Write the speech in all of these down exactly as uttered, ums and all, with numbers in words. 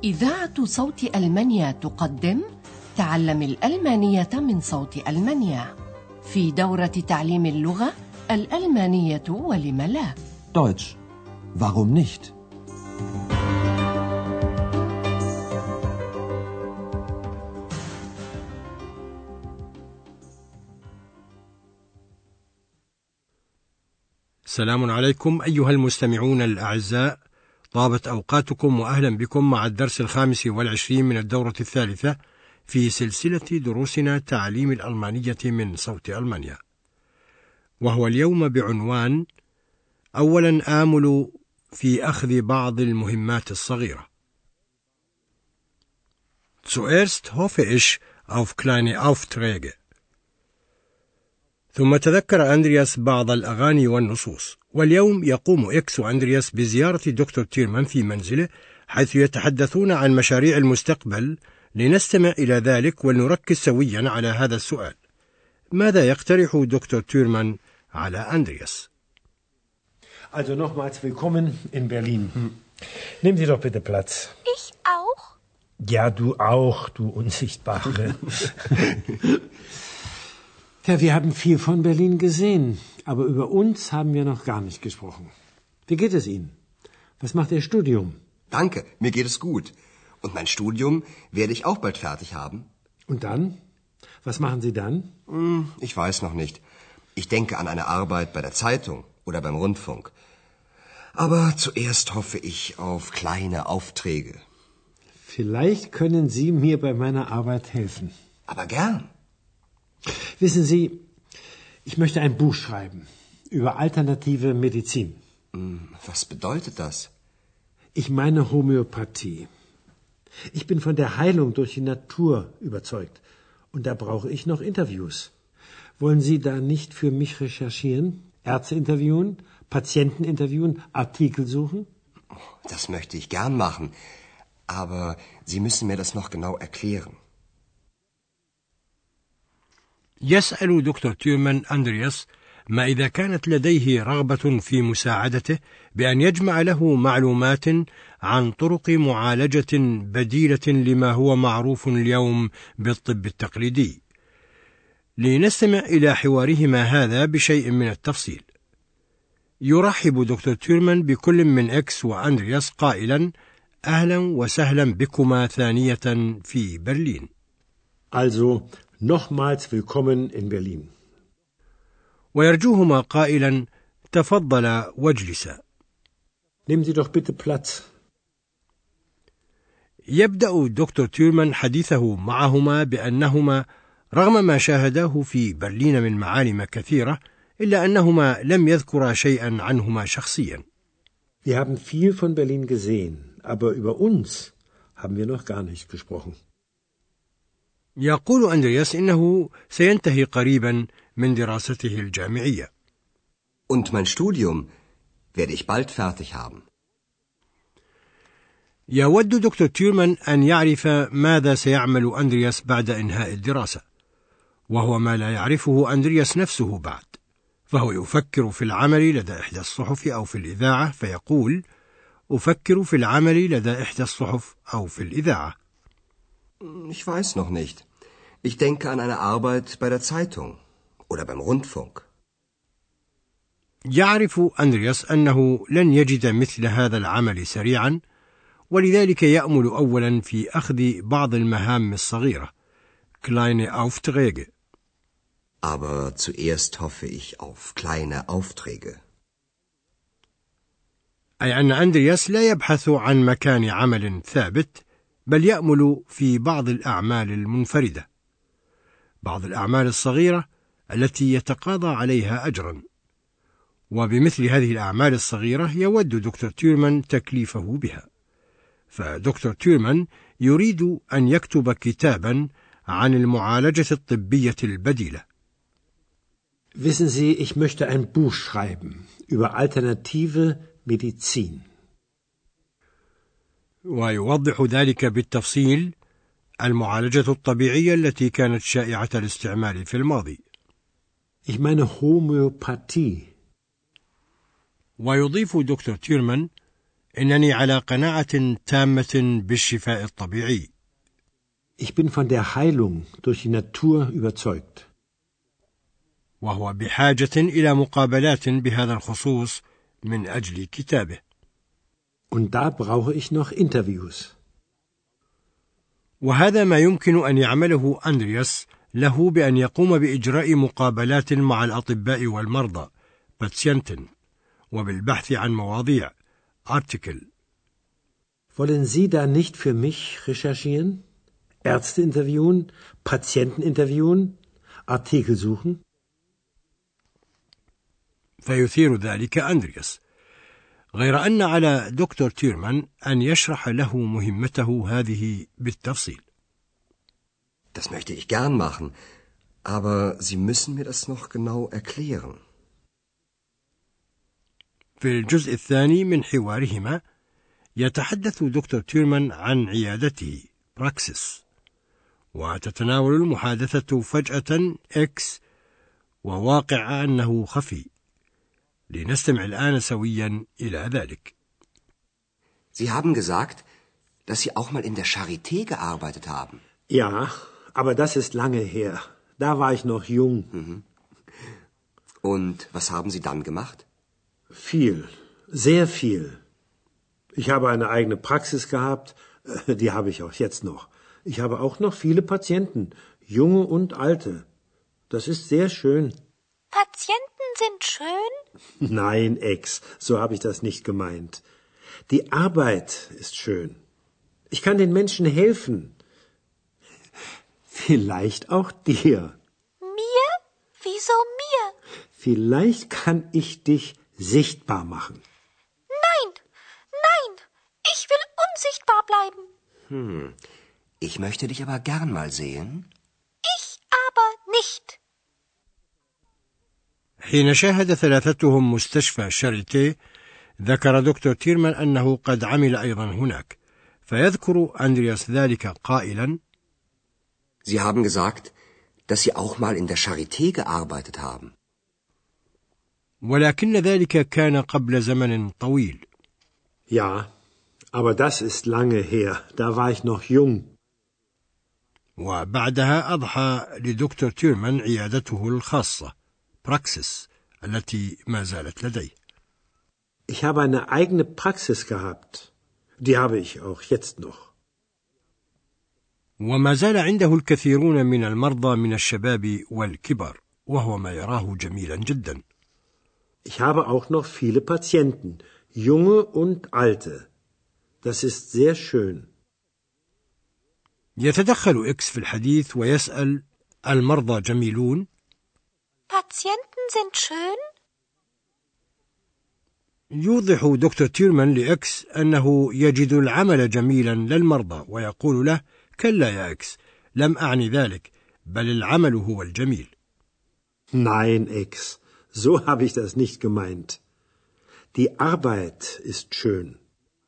إذاعة صوت ألمانيا تقدم تعلم الألمانية من صوت ألمانيا في دورة تعليم اللغة الألمانية ولم لا. Deutsch. Warum nicht? السلام عليكم أيها المستمعون الأعزاء، طابت أوقاتكم وأهلا بكم مع الدرس الخامس والعشرين من الدورة الثالثة في سلسلة دروسنا تعليم الألمانية من صوت ألمانيا، وهو اليوم بعنوان أولا آمل في أخذ بعض المهمات الصغيرة. Zuerst hoffe ich auf kleine Aufträge. ثم تذكر أندرياس بعض الأغاني والنصوص، واليوم يقوم إكس وأندرياس بزيارة دكتور تيرمان في منزله حيث يتحدثون عن مشاريع المستقبل. لنستمع إلى ذلك ونركز سويا على هذا السؤال: ماذا يقترح دكتور تيرمان على أندرياس؟ Also nochmals willkommen in Berlin. Nehmen Sie doch bitte Platz. Ich auch? Ja, du auch, du Unsichtbare. Ja, wir haben viel von Berlin gesehen, aber über uns haben wir noch gar nicht gesprochen. Wie geht es Ihnen? Was macht Ihr Studium? Danke, mir geht es gut. Und mein Studium werde ich auch bald fertig haben. Und dann? Was machen Sie dann? Hm, ich weiß noch nicht. Ich denke an eine Arbeit bei der Zeitung oder beim Rundfunk. Aber zuerst hoffe ich auf kleine Aufträge. Vielleicht können Sie mir bei meiner Arbeit helfen. Aber gern. Wissen Sie, ich möchte ein Buch schreiben über alternative Medizin. Was bedeutet das? Ich meine Homöopathie. Ich bin von der Heilung durch die Natur überzeugt. Und da brauche ich noch Interviews. Wollen Sie da nicht für mich recherchieren? Ärzte interviewen, Patienten interviewen, Artikel suchen? Das möchte ich gern machen. Aber Sie müssen mir das noch genau erklären. يسأل دكتور تيرمان أندرياس ما إذا كانت لديه رغبة في مساعدته بأن يجمع له معلومات عن طرق معالجة بديلة لما هو معروف اليوم بالطب التقليدي. لنستمع إلى حوارهما هذا بشيء من التفصيل. يرحب دكتور تيرمان بكل من إكس وأندرياس قائلا: أهلا وسهلا بكما ثانية في برلين. Also, nochmals willkommen in Berlin. ويرجوهما قائلا: تفضلا واجلسا. Nehmen Sie doch bitte Platz. يبدأ دكتور تيرمان حديثه معهما بأنهما رغم ما شاهداه في برلين من معالم كثيرة إلا أنهما لم يذكرا شيئا عنهما شخصيا. Wir haben viel von Berlin gesehen, aber über uns haben wir noch gar nicht gesprochen. يقول أندرياس إنه سينتهي قريبا من دراسته الجامعية. Und mein Studium werde ich bald fertig haben. يود دكتور تيرمان أن يعرف ماذا سيعمل أندرياس بعد إنهاء الدراسة، وهو ما لا يعرفه أندرياس نفسه بعد، فهو يفكر في العمل لدى إحدى الصحف أو في الإذاعة، فيقول: أفكر في العمل لدى إحدى الصحف أو في الإذاعة. Ich weiß noch nicht. Ich denke an eine Arbeit bei der Zeitung oder beim Rundfunk. يعرف أندرياس أنه لن يجد مثل هذا العمل سريعا، ولذلك يأمل أولا في أخذ بعض المهام الصغيرة kleine Aufträge. Aber zuerst hoffe ich auf kleine Aufträge. أي أن أندرياس لا يبحث عن مكان عمل ثابت، بل يأمل في بعض الأعمال المنفردة، بعض الأعمال الصغيرة التي يتقاضى عليها أجرا. وبمثل هذه الأعمال الصغيرة يود دكتور تيرمان تكليفه بها. فدكتور تيرمان يريد أن يكتب كتابا عن المعالجة الطبية البديلة. Wissen Sie, ich möchte ein Buch schreiben über alternative Medizin. ويوضح ذلك بالتفصيل المعالجة الطبيعية التي كانت شائعة الاستعمال في الماضي. Ich meine Homöopathie. ويضيف دكتور تيرمان إنني على قناعة تامة بالشفاء الطبيعي. Ich bin von der Heilung durch die Natur überzeugt. وهو بحاجة إلى مقابلات بهذا الخصوص من أجل كتابه. Und da brauche ich noch Interviews. وهذا ما يمكن أن يعمله أندرياس له بأن يقوم بإجراء مقابلات مع الأطباء والمرضى Patienten وبالبحث عن مواضيع Artikel. Wollen Sie da nicht für mich recherchieren? Ärzte interviewen, Patienten interviewen, Artikel suchen? فيثير ذلك أندرياس، غير أن على دكتور تيرمان أن يشرح له مهمته هذه بالتفصيل. Das möchte ich gern machen, aber Sie müssen mir das noch genau erklären. في الجزء الثاني من حوارهما يتحدث دكتور تيرمان عن عيادته براكسيس، وتتناول المحادثة فجأة إكس وواقع أنه خفي. لنستمع الآن سويا إلى ذلك. Sie haben gesagt, dass Sie auch mal in der Charité gearbeitet haben. Ja, aber das ist lange her. Da war ich noch jung. Mhm. Und was haben Sie dann gemacht? Viel, sehr viel. Ich habe eine eigene Praxis gehabt, die habe ich auch jetzt noch. Ich habe auch noch viele Patienten, junge und alte. Das ist sehr schön. Patienten sind schön? Nein, Ex, so habe ich das nicht gemeint. Die Arbeit ist schön. Ich kann den Menschen helfen. Vielleicht auch dir. Mir? Wieso mir? Vielleicht kann ich dich sichtbar machen. Nein, nein, ich will unsichtbar bleiben. Hm, ich möchte dich aber gern mal sehen. Ich aber nicht. حين شاهد ثلاثتهم مستشفى شاريتي، ذكر دكتور تيرمان أنه قد عمل أيضا هناك، فيذكر أندرياس ذلك قائلا: Sie haben gesagt, dass Sie auch mal in der Charité gearbeitet haben. ولكن ذلك كان قبل زمن طويل. Ja, aber das ist lange her. Da war ich noch jung. وبعدها أضحى لدكتور تيرمان عيادته الخاصة براكسيس التي ما زالت لديه. Ich habe eine eigene Praxis gehabt. Die habe ich auch jetzt noch. وما زال عنده الكثيرون من المرضى من الشباب والكبار، وهو ما يراه جميلا جدا. Ich habe auch noch viele Patienten, junge und alte. Das ist sehr schön. يتدخل إكس في الحديث ويسأل: المرضى جميلون؟ Patienten sind schön? يوضح دكتور تيرمان لإكس أنه يجد العمل جميلا للمرضى، ويقول له: كلا يا إكس، لم أعني ذلك، بل العمل هو الجميل. Nein, Ex, so habe ich das nicht gemeint. Die Arbeit ist schön.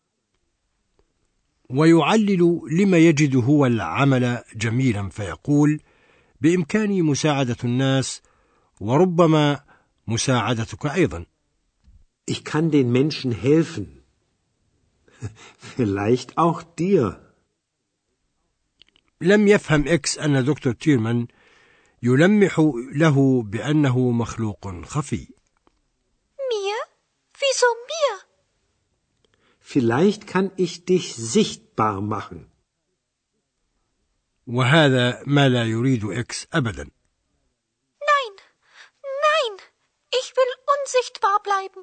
ويعلل لما يجد هو العمل جميلا، فيقول: بإمكاني مساعدة الناس، وربما مساعدتك أيضا. Ich kann den Menschen helfen. Vielleicht auch dir. لم يفهم إكس أن دكتور تيرمان يلمح له بأنه مخلوق خفي. Mir? Wieso mir? Vielleicht kann ich dich sichtbar machen. وهذا ما لا يريد إكس أبدا. Nein, nein, ich will unsichtbar bleiben.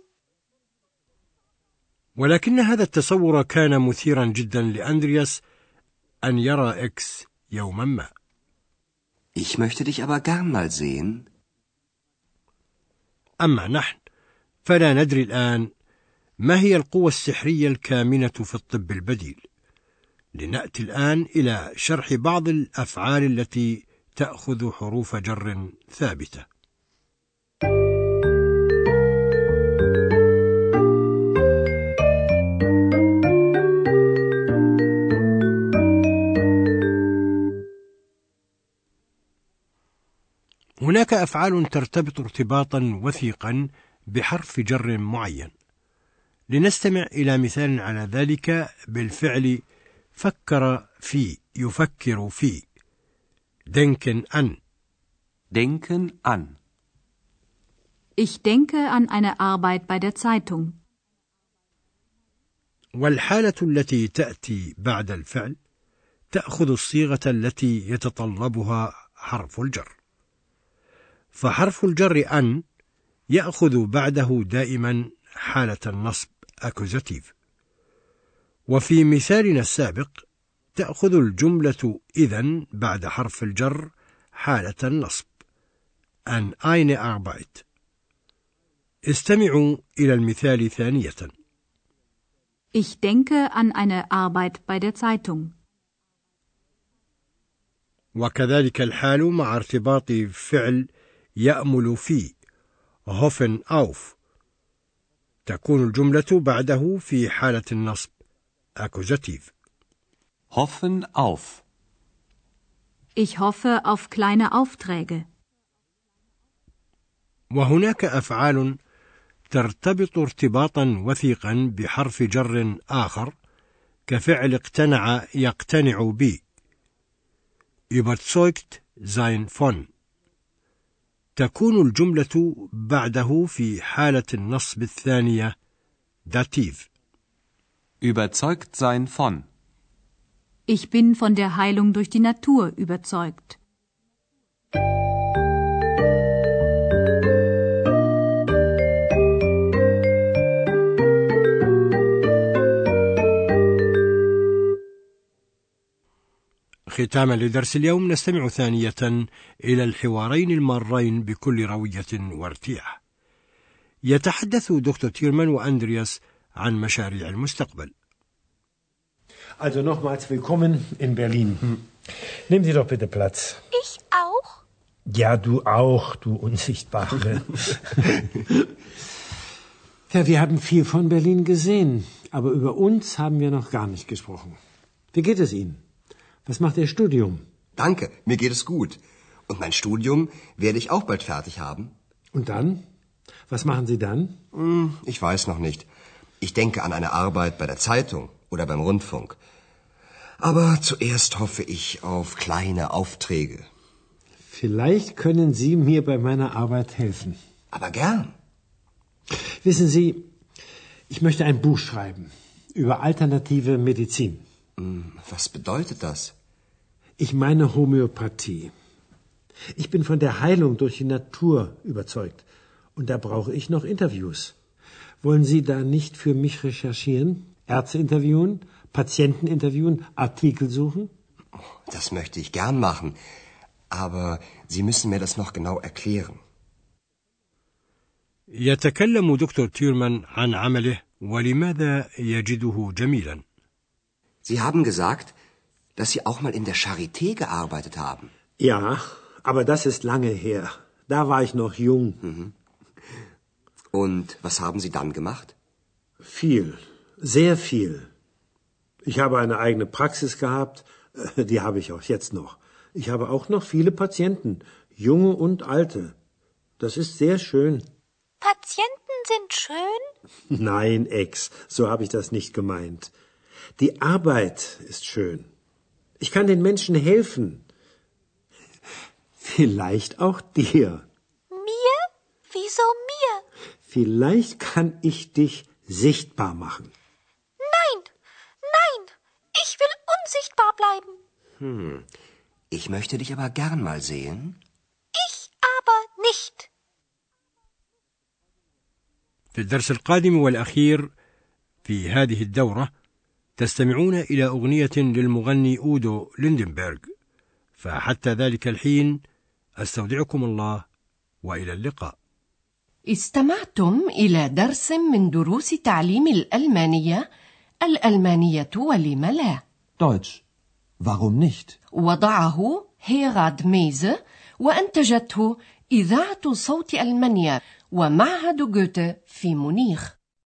ولكن هذا التصور كان مثيرا جدا لأندرياس أن يرى إكس يوما ما. Ich möchte dich aber gern mal sehen. أما نحن فلا ندري الآن ما هي القوة السحرية الكامنة في الطب البديل. لنأتي الآن إلى شرح بعض الأفعال التي تأخذ حروف جر ثابتة. هناك أفعال ترتبط ارتباطا وثيقا بحرف جر معين. لنستمع إلى مثال على ذلك بالفعل فكر في يفكر في denken an. Denken an. Ich denke an eine Arbeit bei der Zeitung. والحالة التي تأتي بعد الفعل تأخذ الصيغة التي يتطلبها حرف الجر. فحرف الجر أن يأخذ بعده دائما حالة النصب accusative. وفي مثالنا السابق تأخذ الجملة إذن بعد حرف الجر حالة النصب an eine Arbeit. استمعوا إلى المثال ثانية. Ich denke an eine Arbeit bei der Zeitung. وكذلك الحال مع ارتباط فعل يأمل في hoffen auf. تكون الجملة بعده في حالة النصب accusative. Hoffen auf. Ich hoffe auf kleine Aufträge. وهناك أفعال ترتبط ارتباطا وثيقا بحرف جر آخر كفعل اقتنع يقتنع بي überzeugt sein von. تكون الجملة بعده في حالة النصب الثانية dativ. Überzeugt sein von. Ich bin von der Heilung durch die Natur überzeugt. ختاما لدرس اليوم نستمع ثانية إلى الحوارين المارين بكل روية وارتياح. يتحدث دكتور تيرمان وأندرياس عن مشاريع المستقبل. Also nochmals willkommen in Berlin. Nehmen Sie doch bitte Platz. Ich auch? Ja, du auch, du Unsichtbare. Ja, wir haben viel von Berlin gesehen, aber über uns haben wir noch gar nicht gesprochen. Wie geht es Ihnen? Was macht Ihr Studium? Danke, mir geht es gut. Und mein Studium werde ich auch bald fertig haben. Und dann? Was machen Sie dann? Hm, ich weiß noch nicht. Ich denke an eine Arbeit bei der Zeitung oder beim Rundfunk. Aber zuerst hoffe ich auf kleine Aufträge. Vielleicht können Sie mir bei meiner Arbeit helfen. Aber gern. Wissen Sie, ich möchte ein Buch schreiben über alternative Medizin. Was bedeutet das? Ich meine Homöopathie. Ich bin von der Heilung durch die Natur überzeugt. Und da brauche ich noch Interviews. Wollen Sie da nicht für mich recherchieren? Ärzte interviewen? Patienten interviewen? Artikel suchen? Das möchte ich gern machen. Aber Sie müssen mir das noch genau erklären. يتكلم دكتور تيرمان عن عمله ولماذا يجده جميلا. Sie haben gesagt, dass Sie auch mal in der Charité gearbeitet haben. Ja, aber das ist lange her. Da war ich noch jung. Mhm. Und was haben Sie dann gemacht? Viel, sehr viel. Ich habe eine eigene Praxis gehabt, die habe ich auch jetzt noch. Ich habe auch noch viele Patienten, junge und alte. Das ist sehr schön. Patienten sind schön? Nein, Ex, so habe ich das nicht gemeint. Die Arbeit ist schön. Ich kann den Menschen helfen. Vielleicht auch dir. Mir? Wieso mir? Vielleicht kann ich dich sichtbar machen. Nein, nein, ich will unsichtbar bleiben. Hm, ich möchte dich aber gern mal sehen. Ich aber nicht. في الدرس القادم والأخير في هذه الدورة تستمعون إلى أغنية للمغني أودو ليندنبرغ. فحتى ذلك الحين أستودعكم الله وإلى اللقاء. استمعتم إلى درس من دروس تعليم الألمانية الألمانية ولم لا. Deutsch. Warum nicht? وضعه هيراد ميزه وأنتجته إذاعة صوت ألمانيا ومعهد جوته في مونيخ.